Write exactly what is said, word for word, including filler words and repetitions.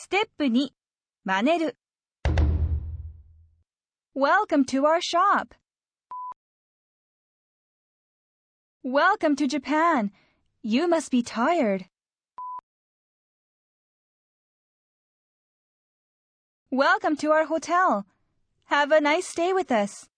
ステップに、真似る。Welcome to our shop. Welcome to Japan. You must be tired. Welcome to our hotel. Have a nice stay with us.